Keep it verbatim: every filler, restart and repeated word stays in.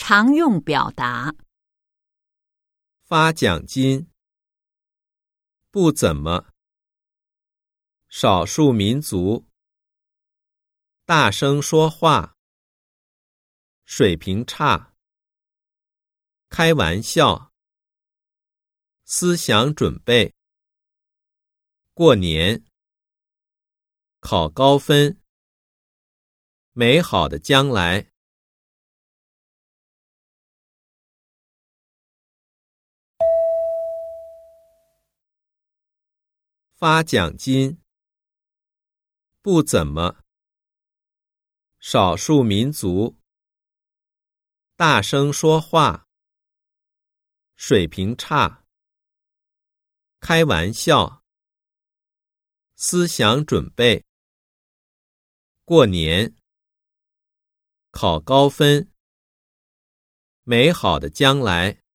常用表达。 发奖金，不怎么，少数民族，大声说话，水平差，开玩笑，思想准备，过年，考高分，美好的将来。发奖金，不怎么，少数民族，大声说话，水平差，开玩笑，思想准备，过年，考高分，美好的将来。